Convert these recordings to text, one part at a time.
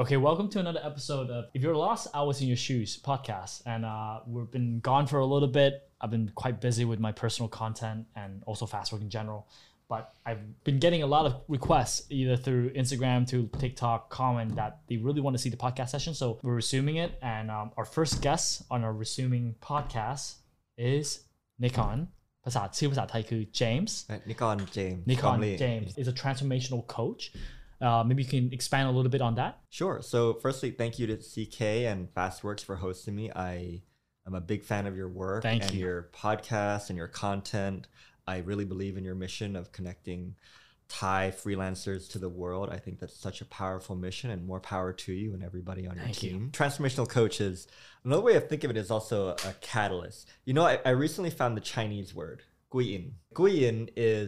Okay, welcome to another episode of If You're Lost, I Was in Your Shoes podcast. And we've been gone for a little bit. I've been quite busy with my personal content and also Fastwork in general. But I've been getting a lot of requests either through Instagram to TikTok comment that they really want to see the podcast session. So we're resuming it. And our first guest on our resuming podcast is Nikon. ภาษาไทยคือ James. Nikon James. Nikon James is a transformational coach. Maybe you can expand a little bit on that. Sure. So firstly, thank you to CK and Fastworks for hosting me. I'm a big fan of your work and your podcast and your content. I really believe in your mission of connecting Thai freelancers to the world. I think that's such a powerful mission and more power to you and everybody on your team. Transformational coach is, another way of thinking of it is also a catalyst. You know, I recently found the Chinese word. Guiyin. Guiyin is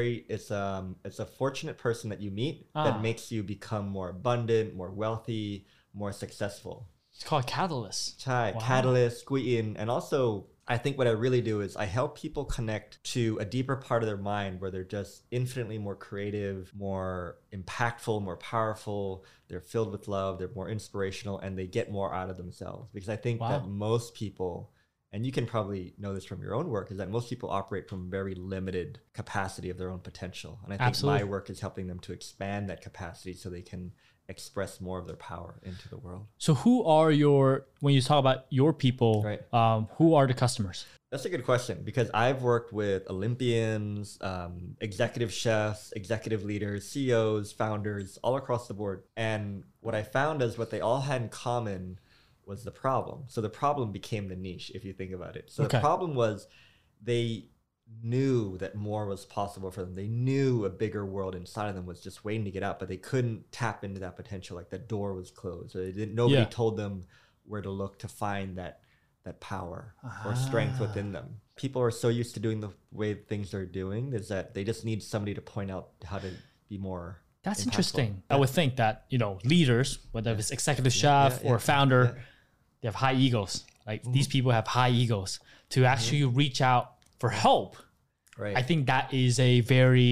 it's a fortunate person that you meet that makes you become more abundant, more wealthy, more successful. It's called catalyst. Wow. Catalyst, Guiyin. And also, I think what I really do is I help people connect to a deeper part of their mind where they're just infinitely more creative, more impactful, more powerful. They're filled with love. They're more inspirational and they get more out of themselves. Because I think that most people, and you can probably know this from your own work, is that most people operate from very limited capacity of their own potential. And I think my work is helping them to expand that capacity so they can express more of their power into the world. So who are when you talk about your people, right. Who are the customers? That's a good question because I've worked with Olympians, executive chefs, executive leaders, CEOs, founders, all across the board. And what I found is what they all had in common was the problem. So the problem became the niche, if you think about it. So the problem was they knew that more was possible for them. They knew a bigger world inside of them was just waiting to get out, but they couldn't tap into that potential. Like the door was closed. So nobody told them where to look to find that power or strength within them. People are so used to doing the way things are doing is that they just need somebody to point out how to be more That's interesting. I would think that, leaders, whether it's executive chef or founder, they have high egos. Like these people have high egos to actually reach out for help. Right. I think that is a very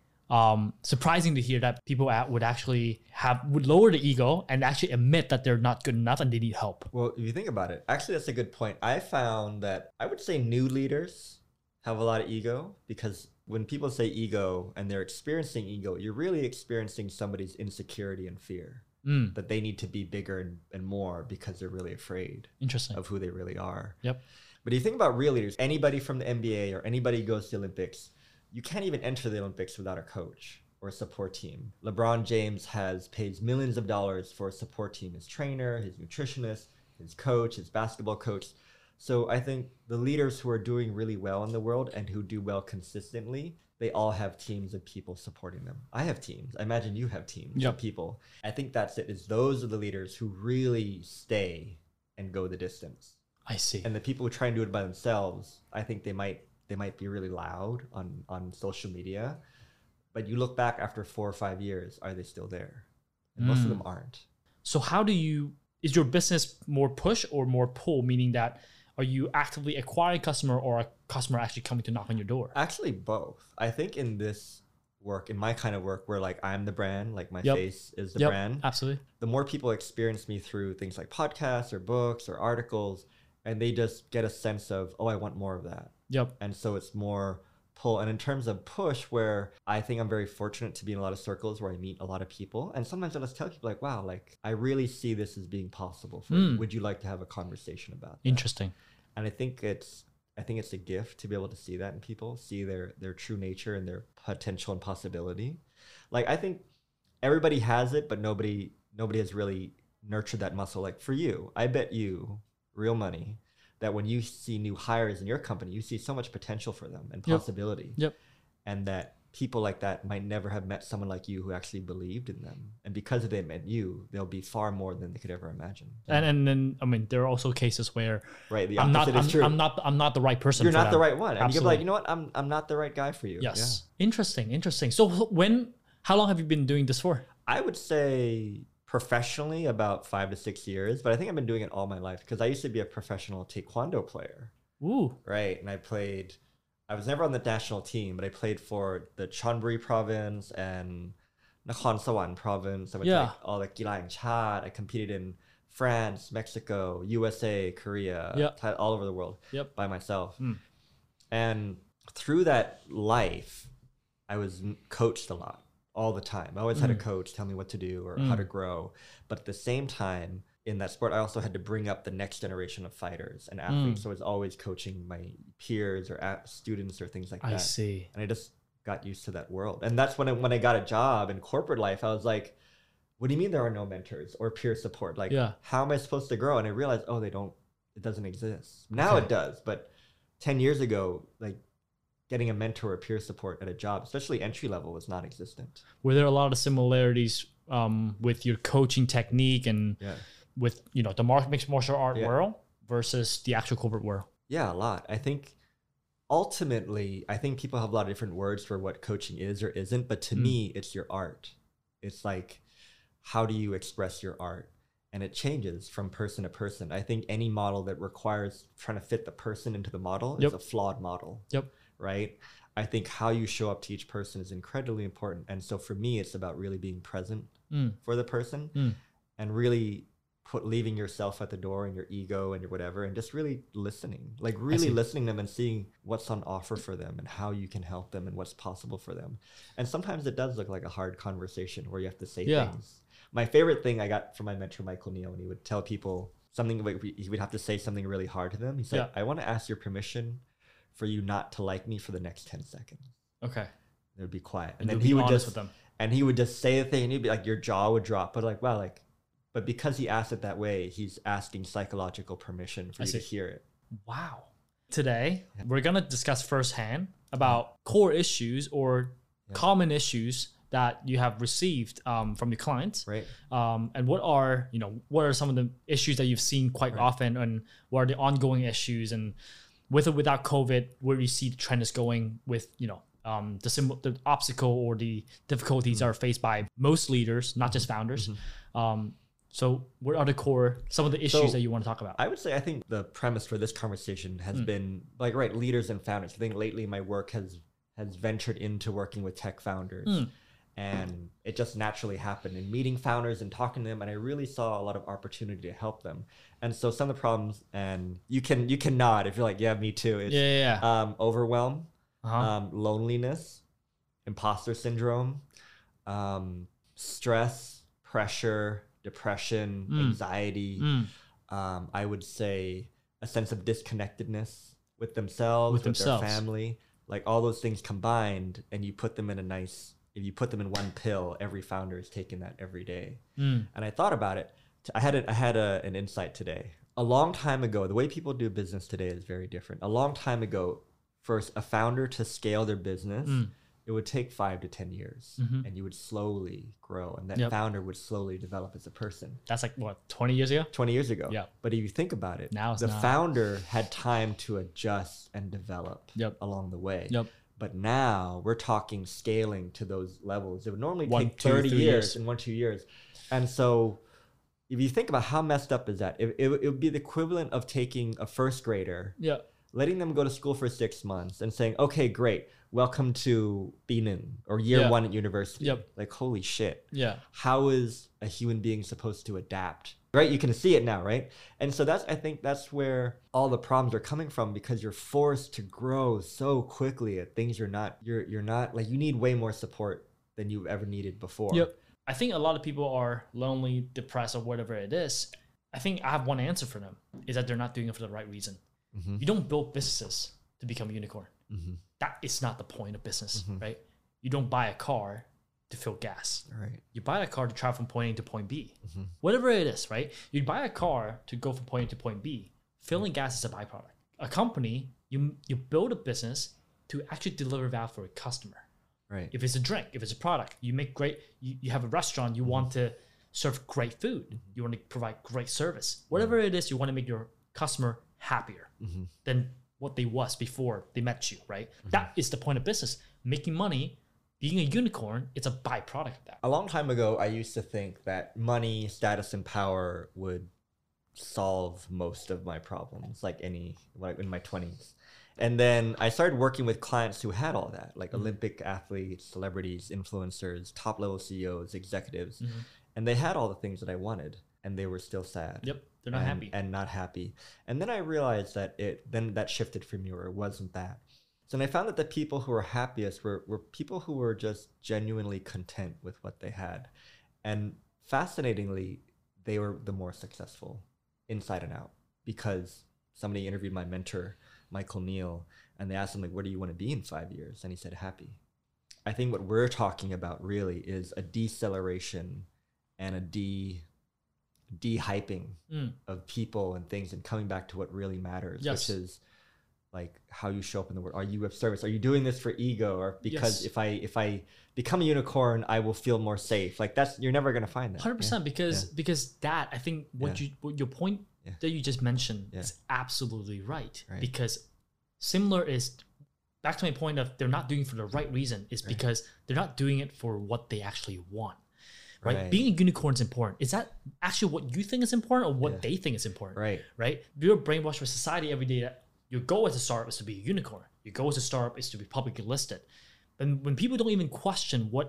surprising to hear that people would actually would lower the ego and actually admit that they're not good enough and they need help. Well, if you think about it, actually that's a good point. I found that I would say new leaders have a lot of ego because when people say ego and they're experiencing ego, you're really experiencing somebody's insecurity and fear. That they need to be bigger and more because they're really afraid of who they really are. Yep. But if you think about real leaders, anybody from the NBA or anybody who goes to the Olympics, you can't even enter the Olympics without a coach or a support team. LeBron James pays millions of dollars for a support team, his trainer, his nutritionist, his coach, his basketball coach. So I think the leaders who are doing really well in the world and who do well consistently, they all have teams of people supporting them. I have teams. I imagine you have teams of people. I think that's it. Is those are the leaders who really stay and go the distance. I see. And the people who try and do it by themselves, I think they might be really loud on social media. But you look back after 4 or 5 years, are they still there? And most of them aren't. So how is your business more push or more pull? Meaning that are you actively acquiring customer or a customer actually coming to knock on your door? Actually, both. I think in this work, in my kind of work, where like I'm the brand, like my face is the brand. Absolutely. The more people experience me through things like podcasts or books or articles, and they just get a sense of, oh, I want more of that. Yep. And so it's more pull. And in terms of push, where I think I'm very fortunate to be in a lot of circles where I meet a lot of people. And sometimes I just tell people like, wow, like I really see this as being possible for you. Would you like to have a conversation about that? Interesting. And I think it's a gift to be able to see that in people, see their true nature and their potential and possibility. Like I think everybody has it, but nobody has really nurtured that muscle. Like for you, I bet you real money that when you see new hires in your company, you see so much potential for them and possibility. Yep. And that people like that might never have met someone like you who actually believed in them. And because they met you, they'll be far more than they could ever imagine. And then, I mean, there are also cases where the opposite is true. I'm not the right person. You're for not them. the right one. And Absolutely. you can be like, you know what? I'm not the right guy for you. Yes. Yeah. Interesting. So how long have you been doing this for? I would say professionally about 5 to 6 years, but I think I've been doing it all my life because I used to be a professional taekwondo player. Ooh. Right. And I was never on the national team, but I played for the Chonburi province and Nakhon Sawan province. I went to like all the Gila and Chad. I competed in France, Mexico, USA, Korea, all over the world by myself. And through that life, I was coached a lot all the time. I always had a coach tell me what to do or how to grow. But at the same time, in that sport, I also had to bring up the next generation of fighters and athletes. So I was always coaching my peers or students or things like that. I see. And I just got used to that world. And that's when I got a job in corporate life, I was like, what do you mean there are no mentors or peer support? Like, how am I supposed to grow? And I realized, it doesn't exist. Now it does. But 10 years ago, like getting a mentor or peer support at a job, especially entry level, was not existent. Were there a lot of similarities with your coaching technique and with, the mixed martial art world versus the actual corporate world? Yeah, a lot. I think ultimately, people have a lot of different words for what coaching is or isn't, but to me, it's your art. It's like, how do you express your art? And it changes from person to person. I think any model that requires trying to fit the person into the model is a flawed model. Right? I think how you show up to each person is incredibly important. And so for me, it's about really being present for the person and really leaving yourself at the door and your ego and your whatever, and just really listening, like really listening to them and seeing what's on offer for them and how you can help them and what's possible for them. And sometimes it does look like a hard conversation where you have to say things. My favorite thing I got from my mentor, Michael Neal, when he would tell people something, he would have to say something really hard to them. He said, I want to ask your permission for you not to like me for the next 10 seconds. Okay. It would be quiet. And then he would just, with them. And he would just say a thing and he'd be like, your jaw would drop. But like, wow, like, but because he asked it that way, he's asking psychological permission for you to hear it. Wow. Today, we're going to discuss firsthand about core issues or common issues that you have received from your clients. Right. And what are some of the issues that you've seen quite often, and what are the ongoing issues, and with or without COVID, where do you see the trend is going with, the obstacle or the difficulties that are faced by most leaders, not just founders. So what are some of the issues that you want to talk about? I would say, I think the premise for this conversation has been like, leaders and founders. I think lately my work has ventured into working with tech founders. And it just naturally happened in meeting founders and talking to them. And I really saw a lot of opportunity to help them. And so some of the problems, and you can nod if you're like, yeah, me too. It's overwhelm, loneliness, imposter syndrome, stress, pressure, depression, anxiety. I would say a sense of disconnectedness with themselves, with their family. Like all those things combined, and you put them in if you put them in one pill, every founder is taking that every day. And I thought about it. I had an insight today. A long time ago, the way people do business today is very different. A long time ago, for a founder to scale their business, it would take 5 to 10 years, and you would slowly grow, and that founder would slowly develop as a person. That's like, what, 20 years ago? 20 years ago. Yeah. But if you think about it, now the founder had time to adjust and develop along the way. But now we're talking scaling to those levels. It would normally take 30 years in 1-2 years. And so if you think about how messed up is that, it would be the equivalent of taking a first grader, letting them go to school for 6 months and saying, okay, great, welcome to Binan or year one at university. Like, holy shit. How is a human being supposed to adapt? Right? You can see it now, right? And so I think that's where all the problems are coming from, because you're forced to grow so quickly at things you're not like, you need way more support than you've ever needed before. I think a lot of people are lonely, depressed, or whatever it is. I think I have one answer for them, is that they're not doing it for the right reason. You don't build businesses to become a unicorn. That is not the point of business, right? You don't buy a car to fill gas. Right. You buy a car to travel from point A to point B. Whatever it is, right? You buy a car to go from point A to point B. Filling gas is a byproduct. A company, you build a business to actually deliver value for a customer. Right. If it's a drink, if it's a product, you make great, you have a restaurant, you want to serve great food. You want to provide great service. Whatever it is, you want to make your customer happier than what they was before they met you, right? That is the point of business. Making money, being a unicorn, it's a byproduct of that. A long time ago, I used to think that money, status, and power would solve most of my problems, like in my 20s. And then I started working with clients who had all that, like Olympic athletes, celebrities, influencers, top level CEOs, executives. And they had all the things that I wanted, and they were still sad. Yep. They're not happy. And not happy. And then I realized that then that shifted for me, or it wasn't that. So then I found that the people who were happiest were people who were just genuinely content with what they had. And fascinatingly, they were the more successful inside and out, because somebody interviewed my mentor, Michael Neal, and they asked him, like, what do you want to be in 5 years? And he said, happy. I think what we're talking about really is a deceleration and a de-hyping of people and things, and coming back to what really matters, which is like how you show up in the world. Are you of service? Are you doing this for ego, or because if I become a unicorn, I will feel more safe? Like you're never gonna find that. 100%, because that, I think what your point that you just mentioned is absolutely right. Because similar is back to my point of they're not doing it for the right reason, is because they're not doing it for what they actually want. Right? Being a unicorn is important. Is that actually what you think is important, or what they think is important? Right? You're brainwashed by society every day that your goal as a startup is to be a unicorn. Your goal as a startup is to be publicly listed. And when people don't even question why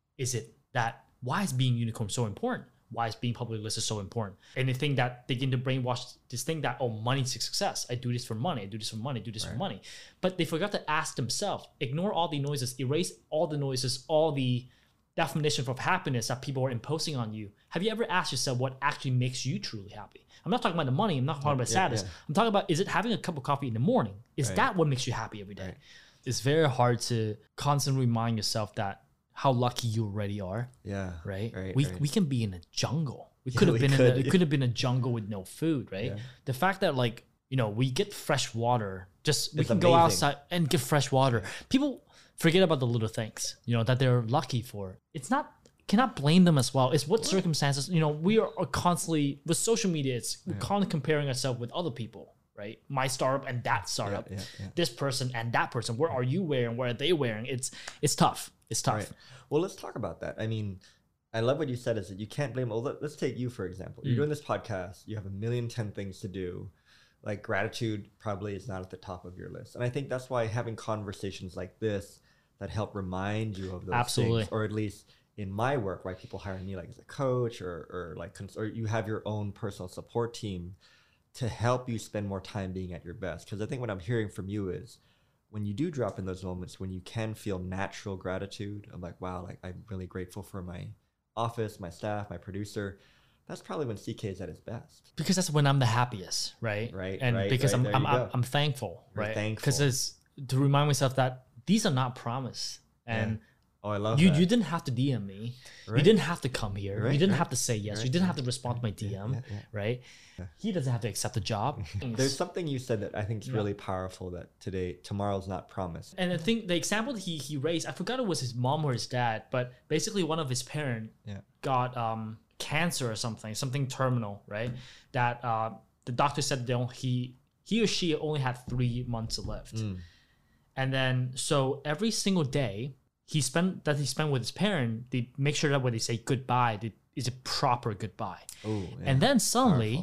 is being a unicorn so important? Why is being publicly listed so important? And they think that they begin to brainwash this thing that, oh, money's success. I do this for money. I do this for money. I do this for money. But they forgot to ask themselves, ignore all the noises, erase all the noises, all the definition of happiness that people are imposing on you. Have you ever asked yourself what actually makes you truly happy? I'm not talking about the money. I'm not talking about status. I'm talking about, is it having a cup of coffee in the morning? Is that what makes you happy every day? It's very hard to constantly remind yourself that how lucky you already are. We can be in a jungle. We could have been it could have been a jungle with no food, right? The fact that, like, you know, we get fresh water. We can go outside and get fresh water. People forget about the little things, you know, that they're lucky for. Cannot blame them as well. It's what circumstances, you know, we are constantly, with social media, we're constantly comparing ourselves with other people, right? My startup and that startup, this person and that person. What are you wearing? What are they wearing? It's tough. It's tough. Right. Well, let's talk about that. I mean, I love what you said, is that you can't blame. Well, let's take you, for example. You're doing this podcast. You have 1,000,010 things to do. Like, gratitude probably is not at the top of your list. And I think that's why having conversations like this that help remind you of those things, or at least in my work, why people hire me, like as a coach, or you have your own personal support team to help you spend more time being at your best. Because I think what I'm hearing from you is, when you do drop in those moments when you can feel natural gratitude of, like, wow, like, I'm really grateful for my office, my staff, my producer, that's probably when CK is at his best. Because that's when I'm the happiest, right? Because I'm thankful, right? Because it's to remind myself that these are not promised. And oh, I love you. that. You didn't have to DM me. You didn't have to come here. You didn't have to say yes. You didn't have to respond to my DM, right? He doesn't have to accept the job. There's something you said that I think is really powerful, that tomorrow's not promised. And I think the example that he raised, I forgot it was his mom or his dad, but basically one of his parents got cancer or something terminal, right? That the doctor said he or she only had 3 months left. And then, so every single day he spent with his parent, they make sure that when they say goodbye, it's a proper goodbye. And then suddenly,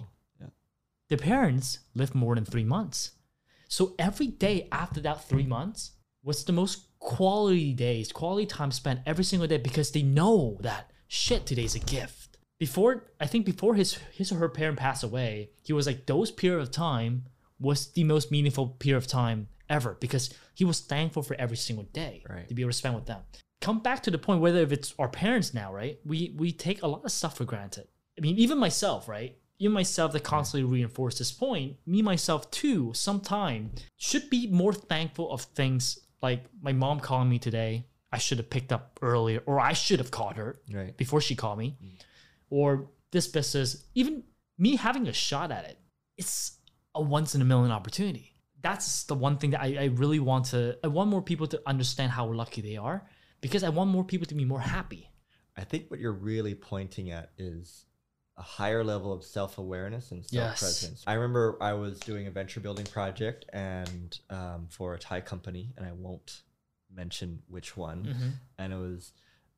the parents lived more than 3 months. So every day after that 3 months was the most quality time spent every single day, because they know that, shit, today's a gift. Before his or her parent passed away, he was like, those period of time was the most meaningful period of time ever, because he was thankful for every single day to be able to spend with them. Come back to the point, whether if it's our parents now, right? We take a lot of stuff for granted. I mean, even myself, right? Even myself that constantly reinforce this point, me, myself too, sometime should be more thankful of things like my mom calling me today. I should have picked up earlier, or I should have called her before she called me. Or this business, even me having a shot at it, it's a once in a million opportunity. That's the one thing that I really want more people to understand how lucky they are, because I want more people to be more happy. I think what you're really pointing at is a higher level of self-awareness and self-presence. I remember I was doing a venture building project and for a Thai company, and I won't mention which one. And it was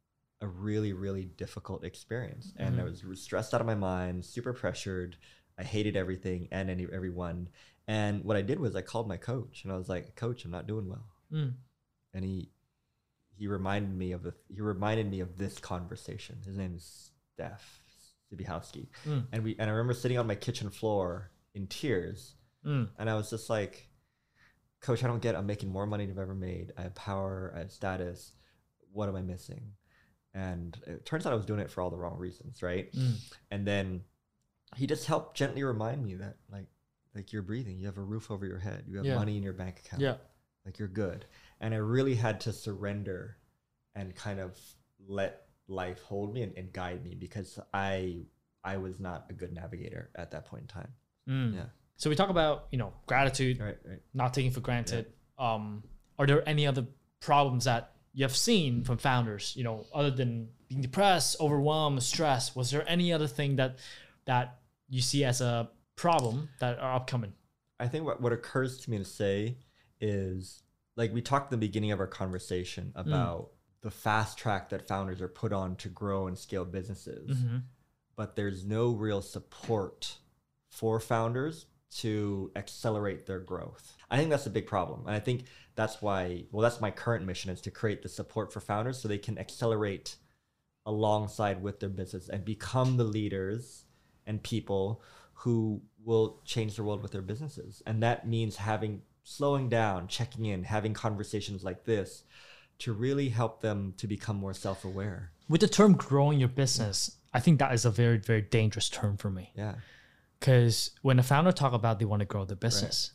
a really, really difficult experience. And I was stressed out of my mind, super pressured. I hated everything and everyone. And what I did was I called my coach and I was like, Coach, I'm not doing well. And he reminded me of this conversation. His name is Steph Zibihowski. And I remember sitting on my kitchen floor in tears. And I was just like, Coach, I'm making more money than I've ever made. I have power, I have status. What am I missing? And it turns out I was doing it for all the wrong reasons, right? And then he just helped gently remind me that like you're breathing, you have a roof over your head, you have money in your bank account, like you're good. And I really had to surrender and kind of let life hold me and guide me, because I was not a good navigator at that point in time. Yeah. So we talk about, gratitude, Right. not taking for granted. Are there any other problems that you have seen from founders, other than being depressed, overwhelmed, stressed? Was there any other thing that you see as a problem that are upcoming? I think what occurs to me to say is, like we talked at the beginning of our conversation about the fast track that founders are put on to grow and scale businesses, but there's no real support for founders to accelerate their growth. I think that's a big problem. And I think that's why, that's my current mission, is to create the support for founders so they can accelerate alongside with their business and become the leaders and people who will change the world with their businesses. And that means slowing down, checking in, having conversations like this to really help them to become more self-aware. With the term growing your business, I think that is a very, very dangerous term for me. Yeah. Because when a founder talk about they want to grow their business,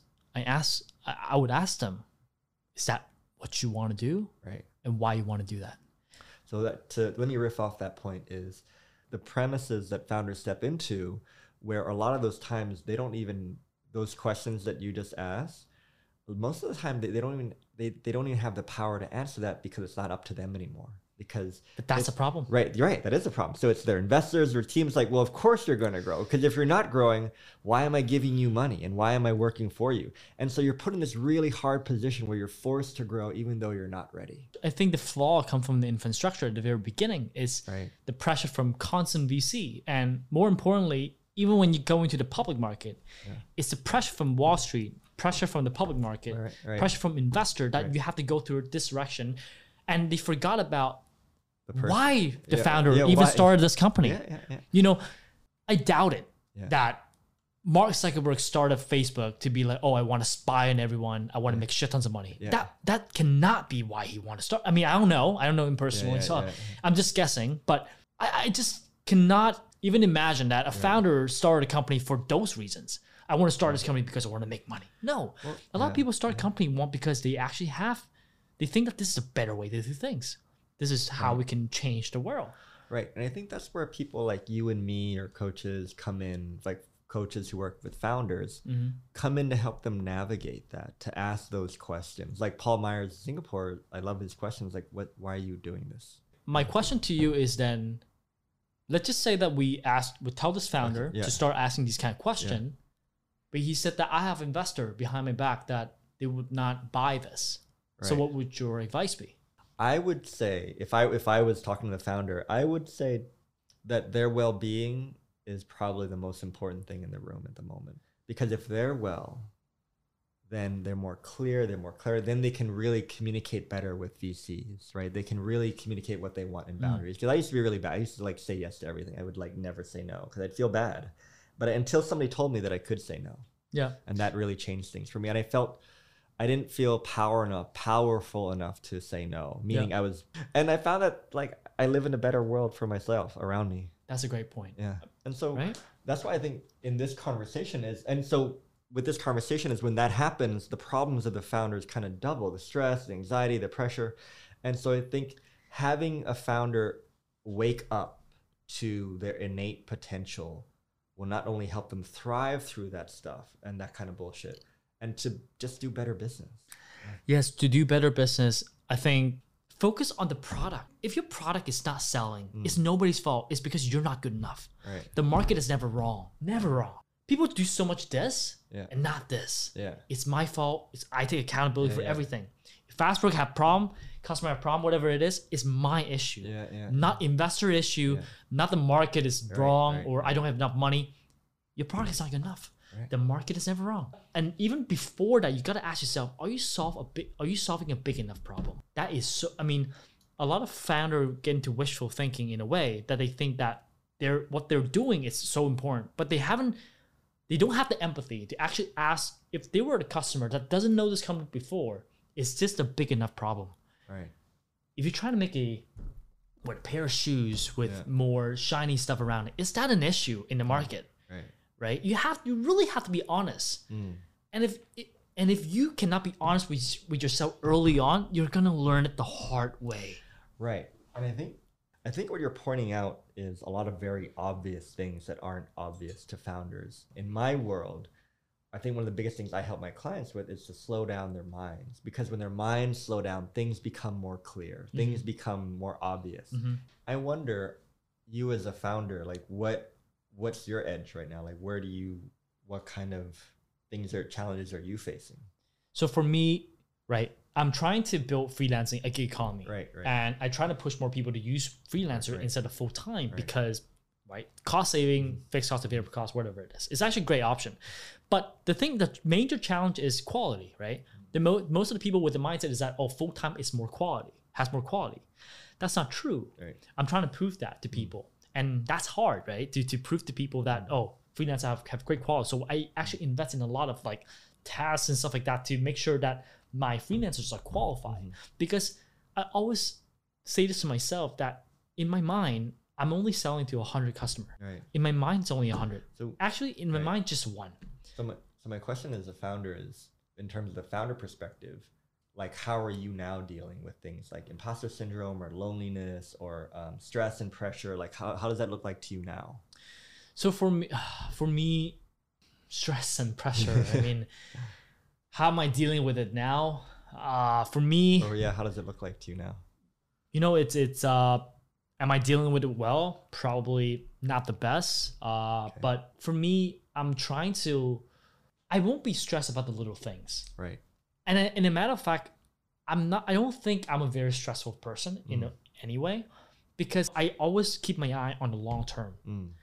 I would ask them, is that what you want to do? Right. And why you want to do that? So let me riff off that point is the premises that founders step into, where a lot of those times those questions that you just asked, most of the time they don't even have the power to answer that, because it's not up to them anymore. But that's a problem. Right, you're right. That is a problem. So it's their investors or teams like, well, of course you're going to grow, because if you're not growing, why am I giving you money and why am I working for you? And so you're put in this really hard position where you're forced to grow even though you're not ready. I think the flaw comes from the infrastructure at the very beginning is the pressure from constant VC. And more importantly, even when you go into the public market, it's the pressure from Wall Street, pressure from the public market, pressure from investor that you have to go through this direction. And they forgot about why the founder started this company. I doubt it that Mark Zuckerberg started Facebook to be like, oh, I want to spy on everyone. I want to make shit tons of money. That cannot be why he wanted to start. I mean, I don't know him personally. I'm just guessing, but I just cannot even imagine that a founder started a company for those reasons. I want to start this company because I want to make money. No, a lot of people start a company because they actually they think that this is a better way to do things. This is how we can change the world. Right. And I think that's where people like you and me or coaches come in, like coaches who work with founders, come in to help them navigate that, to ask those questions. Like Paul Myers, Singapore, I love his questions. Like, why are you doing this? My question to you is then, let's just say that we tell this founder to start asking these kind of questions, but he said that I have investor behind my back that they would not buy this. Right. So what would your advice be? I would say, if I was talking to the founder, I would say that their well-being is probably the most important thing in the room at the moment. Because if they're well, then they're more clear, then they can really communicate better with VCs, right? They can really communicate what they want in boundaries. Because I used to be really bad. I used to like say yes to everything. I would like never say no because I'd feel bad. But until somebody told me that I could say no. Yeah. And that really changed things for me. And I didn't feel powerful enough to say no, meaning I found that like I live in a better world for myself around me. That's a great point. Yeah. And so that's why I think in this conversation with this conversation is when that happens, the problems of the founders kind of double, the stress, the anxiety, the pressure. And so I think having a founder wake up to their innate potential will not only help them thrive through that stuff and that kind of bullshit, and to just do better business. Yes, to do better business, I think focus on the product. If your product is not selling, it's nobody's fault. It's because you're not good enough. Right. The market is never wrong. Never wrong. People do so much this and not this. Yeah. It's my fault. I take accountability for everything. If Fastwork have problem, customer have problem, whatever it is, it's my issue. Not investor issue, not the market is wrong or I don't have enough money. Your product is not good enough. Right. The market is never wrong. And even before that, you got to ask yourself, are you solving a big enough problem? That is so, I mean, a lot of founders get into wishful thinking in a way that they think that what they're doing is so important, but they don't have the empathy to actually ask, if they were the customer that doesn't know this company before, is this a big enough problem? Right. If you're trying to make a pair of shoes with more shiny stuff around it, is that an issue in the market? Right? You really have to be honest. And if you cannot be honest with yourself early on, you're gonna learn it the hard way. Right. And I think what you're pointing out is a lot of very obvious things that aren't obvious to founders. In my world, I think one of the biggest things I help my clients with is to slow down their minds, because when their minds slow down, things become more clear, things become more obvious. I wonder, you as a founder, like what's your edge right now? Like what kind of things or challenges are you facing? So for me, right, I'm trying to build freelancing a gig economy. Right. And I try to push more people to use freelancer instead of full time because, cost saving, fixed cost of variable cost, whatever it is. It's actually a great option. But the major challenge is quality, right? Most of the people with the mindset is that, full time is more quality, has more quality. That's not true. Right. I'm trying to prove that to people. And that's hard, right? To prove to people that, freelancers have great quality. So I actually invest in a lot of tasks and stuff like that to make sure that my freelancers are qualified. Because I always say this to myself, that in my mind, I'm only selling to 100 customers. Right. In my mind, it's only 100. So actually, in my mind, just one. So my question as a founder is, in terms of the founder perspective, like how are you now dealing with things like imposter syndrome or loneliness or stress and pressure? Like how does that look like to you now? So for me, stress and pressure, I mean, how am I dealing with it now? For me, how does it look like to you now? It's am I dealing with it well? Probably not the best. But for me, I won't be stressed about the little things. Right. And in a matter of fact, I don't think I'm a very stressful person in any way, because I always keep my eye on the long term.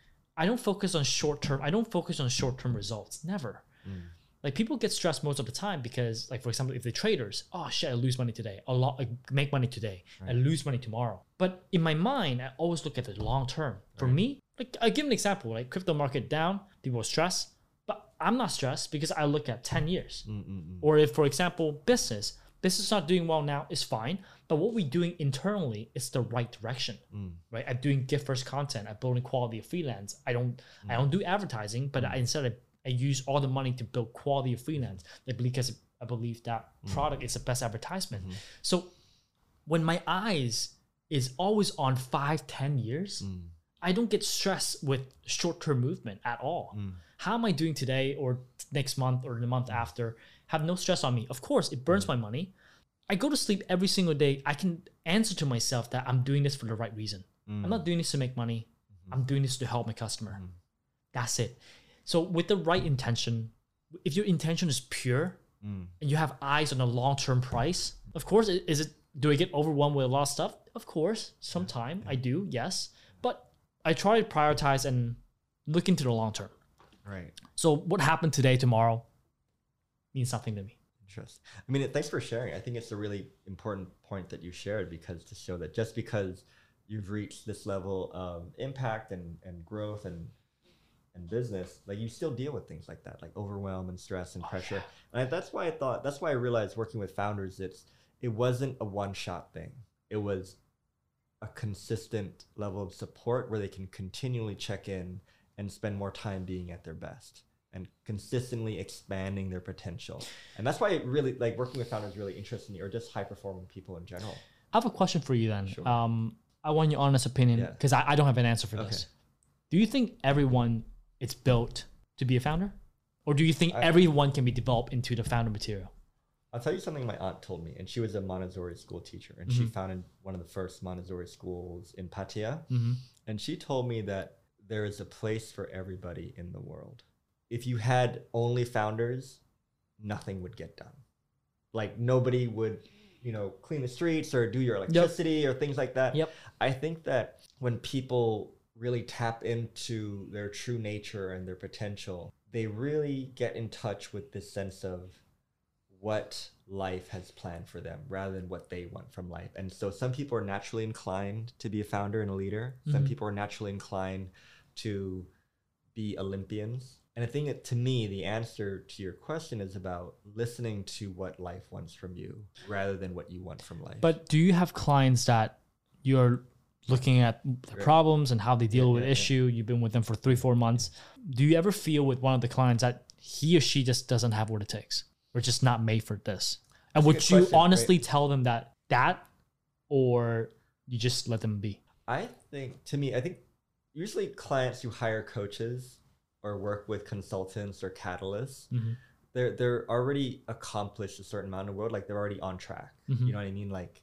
I don't focus on short term. I don't focus on short-term results. Never. Like, people get stressed most of the time because, like, for example, if they're traders, oh shit, I lose money today. I make money today. I lose money tomorrow. But in my mind, I always look at the long term. For me, like, I give an example, like crypto market down, people are stressed, but I'm not stressed because I look at 10 years. Or if, for example, business is not doing well now, it's fine. But what we're doing internally is the right direction, right? I'm doing gift first content. I'm building quality of freelance. I don't do advertising, but I use all the money to build quality of freelance, because I believe that product is the best advertisement. So when my eyes is always on 5-10 years, I don't get stressed with short-term movement at all. How am I doing today or next month or the month after? Have no stress on me. Of course, it burns my money. I go to sleep every single day. I can answer to myself that I'm doing this for the right reason. I'm not doing this to make money. I'm doing this to help my customer. That's it. So with the right intention, if your intention is pure and you have eyes on the long-term price, of course, do I get overwhelmed with a lot of stuff? Of course, sometime I do, yes. But I try to prioritize and look into the long term. Right. So what happened today, tomorrow means nothing to me. Interesting. I mean, thanks for sharing. I think it's a really important point that you shared, because to show that just because you've reached this level of impact and growth and business, like, you still deal with things like that, like overwhelm and stress and pressure. And that's why I realized working with founders, it wasn't a one-shot thing. It was a consistent level of support where they can continually check in and spend more time being at their best and consistently expanding their potential. And that's why it really, like, working with founders really interests me, or just high-performing people in general. I have a question for you then. Sure. I want your honest opinion, because I don't have an answer for this. Do you think everyone is built to be a founder? Or do you think everyone can be developed into the founder material? I'll tell you something my aunt told me, and she was a Montessori school teacher, and she founded one of the first Montessori schools in Pattaya. And she told me that there is a place for everybody in the world. If you had only founders, nothing would get done. Like, nobody would, clean the streets or do your electricity or things like that. I think that when people really tap into their true nature and their potential, they really get in touch with this sense of what life has planned for them rather than what they want from life. And so some people are naturally inclined to be a founder and a leader. Some people are naturally inclined to be Olympians. And I think that, to me, the answer to your question is about listening to what life wants from you rather than what you want from life. But do you have clients that you're looking at the problems and how they deal with issue? You've been with them for 3-4 months. Do you ever feel with one of the clients that he or she just doesn't have what it takes? Or just not made for this? And would you honestly tell them that, or you just let them be? I think usually clients who hire coaches or work with consultants or catalysts, they're already accomplished a certain amount of world. Like they're already on track. You know what I mean? Like,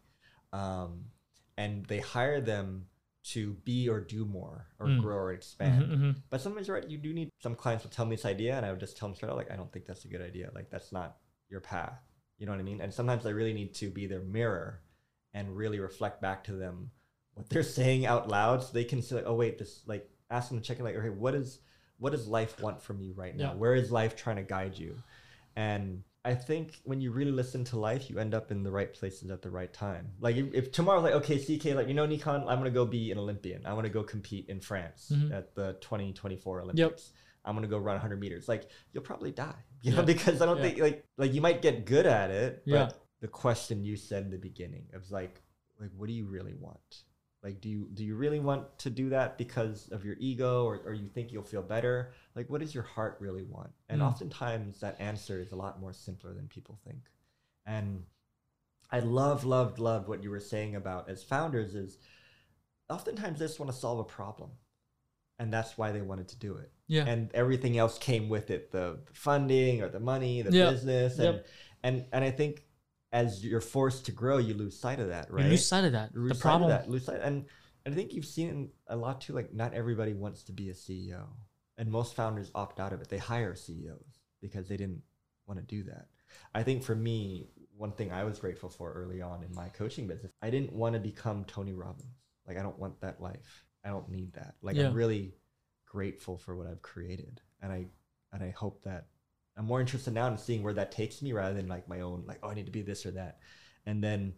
and they hire them to be or do more or grow or expand. But sometimes you're right, you do need, some clients will tell me this idea and I would just tell them straight out, like, I don't think that's a good idea. Like that's not your path. You know what I mean? And sometimes I really need to be their mirror and really reflect back to them what they're saying out loud so they can say, like, oh wait, this, like, ask them to check in, like, okay, what does life want from you right now? Where is life trying to guide you? And I think when you really listen to life, you end up in the right places at the right time. Like if tomorrow's like, okay, CK, like, you know, Nikon, I'm going to go be an Olympian. I want to go compete in France at the 2024 Olympics. I'm going to go run 100 meters. Like, you'll probably die, you know, because I don't think like you might get good at it. But the question you said in the beginning of like, what do you really want? Like, do you really want to do that because of your ego or you think you'll feel better? Like, what does your heart really want? And oftentimes that answer is a lot more simpler than people think. And I loved what you were saying about as founders is oftentimes they just want to solve a problem. And that's why they wanted to do it. Yeah. And everything else came with it, the funding or the money, the business. And I think as you're forced to grow, you lose sight of that, right? You lose sight of that. The problem. And I think you've seen a lot too, like not everybody wants to be a CEO. And most founders opt out of it. They hire CEOs because they didn't want to do that. I think for me, one thing I was grateful for early on in my coaching business, I didn't want to become Tony Robbins. Like, I don't want that life. I don't need that. Like, I'm really grateful for what I've created. And I hope that I'm more interested now in seeing where that takes me rather than like my own, like, oh, I need to be this or that. And then,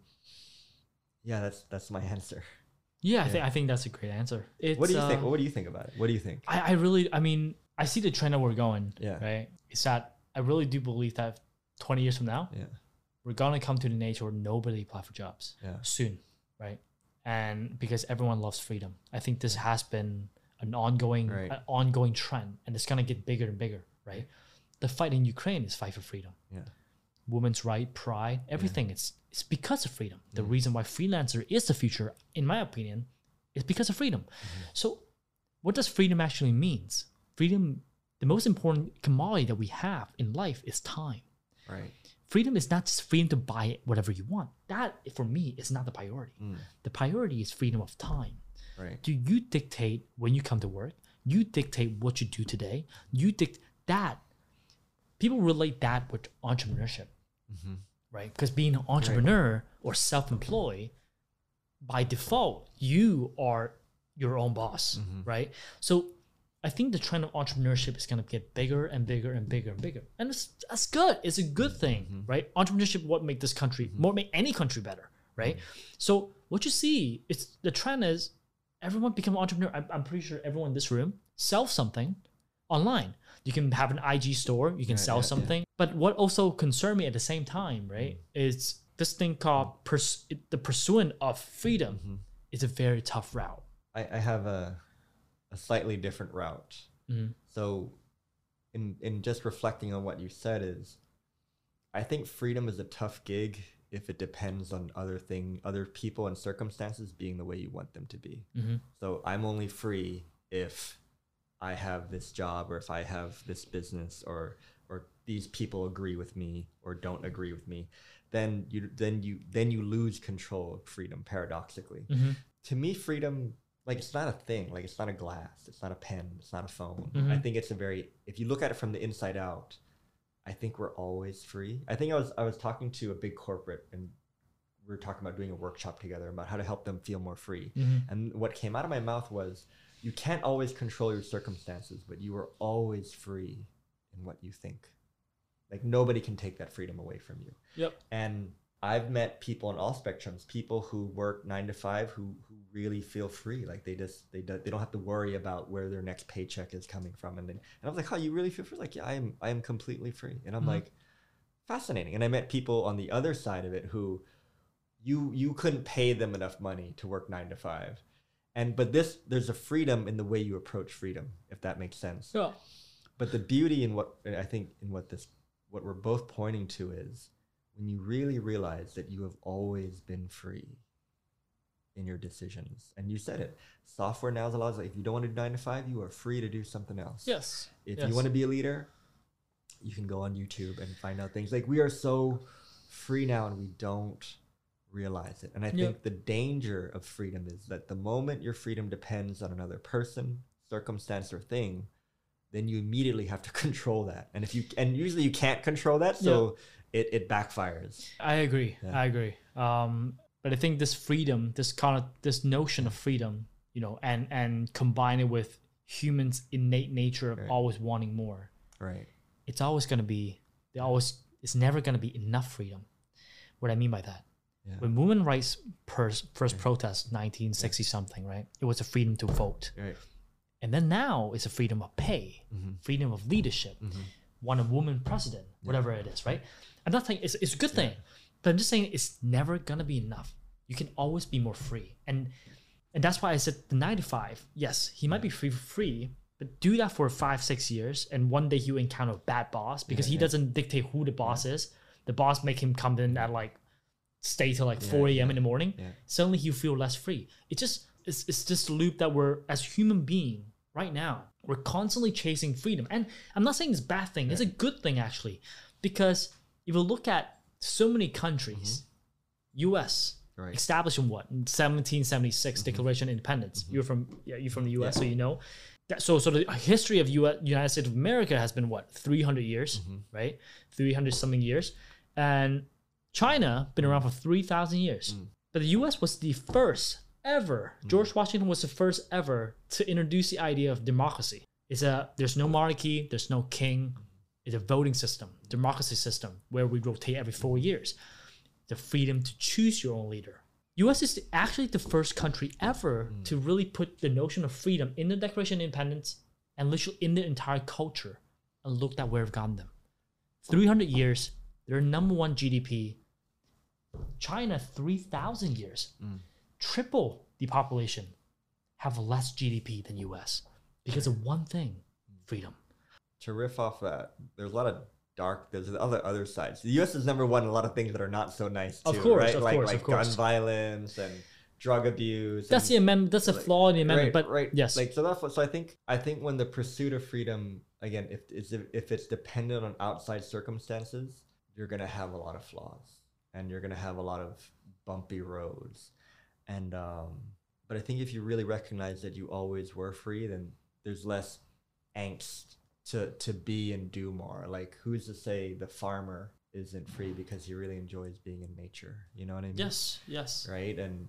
that's my answer. Yeah, I think that's a great answer. What do you think? What do you think about it? What do you think? I see the trend that we're going, right? It's that I really do believe that 20 years from now, we're going to come to the age where nobody apply for jobs soon, right? And because everyone loves freedom. I think this has been an ongoing trend, and it's going to get bigger and bigger, right? The fight in Ukraine is fight for freedom. Yeah. Women's right, pride, everything. It's because of freedom. The reason why freelancer is the future, in my opinion, is because of freedom. So what does freedom actually means? Freedom, the most important commodity that we have in life is time. Right. Freedom is not just freedom to buy whatever you want. That, for me, is not the priority. The priority is freedom of time. Right. Do you dictate when you come to work? You dictate what you do today. You dictate that. People relate that with entrepreneurship, right? Because being an entrepreneur or self-employed, by default, you are your own boss, right? So I think the trend of entrepreneurship is going to get bigger and bigger and bigger and bigger. And that's good. It's a good thing, right? Entrepreneurship, what make this country, what make any country better, right? So what you see, the trend is everyone become an entrepreneur. I'm pretty sure everyone in this room sells something online. You can have an IG store, you can sell something. But what also concerned me at the same time, right, is this thing called the pursuit of freedom is a very tough route. I have a slightly different route. So in just reflecting on what you said is, I think freedom is a tough gig if it depends on other people and circumstances being the way you want them to be. So I'm only free if I have this job or if I have this business or these people agree with me or don't agree with me, then you lose control of freedom, paradoxically. To me, freedom, like, it's not a thing. Like, it's not a glass, it's not a pen, it's not a phone. I think it's if you look at it from the inside out, I think we're always free. I think I was talking to a big corporate and we were talking about doing a workshop together about how to help them feel more free. And what came out of my mouth was, you can't always control your circumstances, but you are always free in what you think. Like nobody can take that freedom away from you. Yep. And I've met people on all spectrums, people who work 9 to 5 who really feel free. Like they don't have to worry about where their next paycheck is coming from. And I was like, oh, you really feel free? Like, yeah, I am completely free. And I'm like, fascinating. And I met people on the other side of it who you couldn't pay them enough money to work 9 to 5. But there's a freedom in the way you approach freedom, if that makes sense. Yeah. But the beauty in what we're both pointing to is when you really realize that you have always been free in your decisions. And you said it. Software now allows, like, if you don't want to do 9 to 5, you are free to do something else. Yes. If you want to be a leader, you can go on YouTube and find out things. Like, we are so free now and we don't realize it. And I think the danger of freedom is that the moment your freedom depends on another person, circumstance, or thing, then you immediately have to control that. And usually you can't control that, so it backfires. I agree. Yeah. I agree. But I think this freedom, this notion of freedom, you know, and combine it with humans' innate nature of always wanting more. Right. It's always going to be, it's never going to be enough freedom. What I mean by that. Yeah. When women rights first protest, 1960 something, right? It was a freedom to vote. Right. And then now it's a freedom of pay, freedom of leadership, want a woman president, whatever it is, right? I'm not saying it's a good thing, but I'm just saying it's never gonna be enough. You can always be more free. And that's why I said the 9 to 5, yes, he might be free, but do that for 5-6 years, and one day he'll encounter a bad boss because he doesn't dictate who the boss is. The boss make him come in at stay till 4 a.m. in the morning. Yeah. Suddenly you feel less free. It's just a loop that we're, as human being right now, we're constantly chasing freedom. And I'm not saying it's a bad thing. It's a good thing, actually, because if you look at so many countries, U.S. established in what? In 1776, Declaration of Independence. You're from the U.S., so you know. So the history of United States of America has been what? 300 years, right? 300 something years. And China been around for 3,000 years. But the U.S. was the first ever. George Washington was the first ever to introduce the idea of democracy. There's no monarchy, there's no king. It's a voting system, democracy system, where we rotate every 4 years. The freedom to choose your own leader. U.S. is actually the first country ever to really put the notion of freedom in the Declaration of Independence and literally in the entire culture. And look at where we've gotten them. 300 years, they're number one GDP. China, 3,000 years. Triple the population have less GDP than U.S. because of one thing, freedom. To riff off that, there's a lot of there's other sides. The U.S. is number one in a lot of things that are not so nice too, of course, right? Of like course. Gun violence and drug abuse. That's the amendment. That's a flaw in the amendment. Yes. So I think when the pursuit of freedom, again, if it's dependent on outside circumstances, you're gonna have a lot of flaws and you're gonna have a lot of bumpy roads. And but I think if you really recognize that you always were free, then there's less angst to be and do more. Like, who's to say the farmer isn't free because he really enjoys being in nature? You know what I mean? Yes. Right? And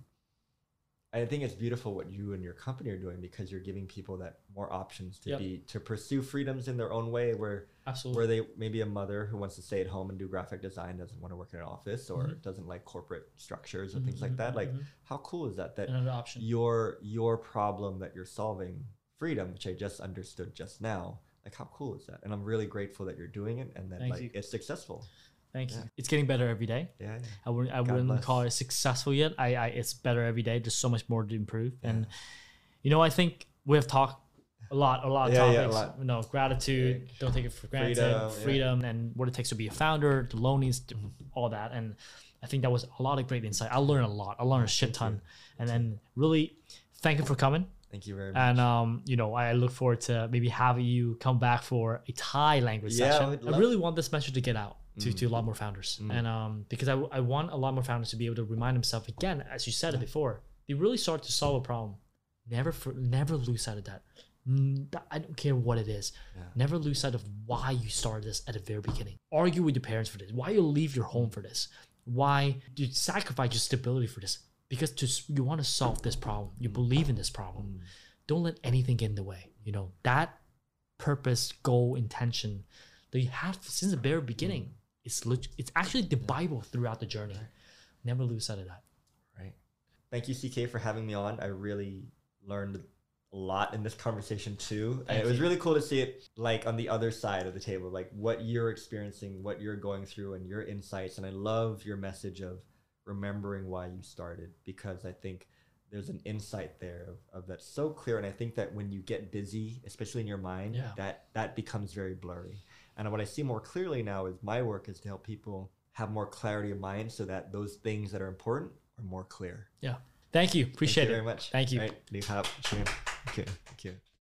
I think it's beautiful what you and your company are doing, because you're giving people that more options to pursue freedoms in their own way, where they maybe a mother who wants to stay at home and do graphic design, doesn't want to work in an office, or doesn't like corporate structures or things like that. Like, how cool is that another option. Your problem that you're solving, freedom, which I just understood just now, like, how cool is that? And I'm really grateful that you're doing it and that it's successful. Thank you. It's getting better every day. Yeah. I wouldn't call it successful yet. It's better every day. There's so much more to improve. Yeah. And I think we have talked a lot of topics. A lot. Gratitude, don't take it for granted, freedom, and what it takes to be a founder, the loneliness, all that. And I think that was a lot of great insight. I learned a lot. I learned a shit ton. And then really thank you for coming. Thank you very much. And I look forward to maybe having you come back for a Thai language session. I really want this message to get out to a lot more founders. And because I want a lot more founders to be able to remind themselves again, as you said it before, they really start to solve a problem. Never lose sight of that. I don't care what it is. Yeah. Never lose sight of why you started this at the very beginning. Argue with your parents for this. Why you leave your home for this. Why you sacrifice your stability for this. Because you want to solve this problem. You believe in this problem. Don't let anything get in the way. That purpose, goal, intention, that you have since the very beginning. It's actually the Bible throughout the journey. Never lose sight of that. Right. Thank you, CK, for having me on. I really learned a lot in this conversation too. And it was really cool to see it like on the other side of the table, like what you're experiencing, what you're going through, and your insights. And I love your message of remembering why you started, because I think there's an insight there of that's so clear. And I think that when you get busy, especially in your mind, that becomes very blurry. And what I see more clearly now is my work is to help people have more clarity of mind so that those things that are important are more clear. Yeah. Thank you. Appreciate it. Thank you very much. Thank you. Right. Thank you.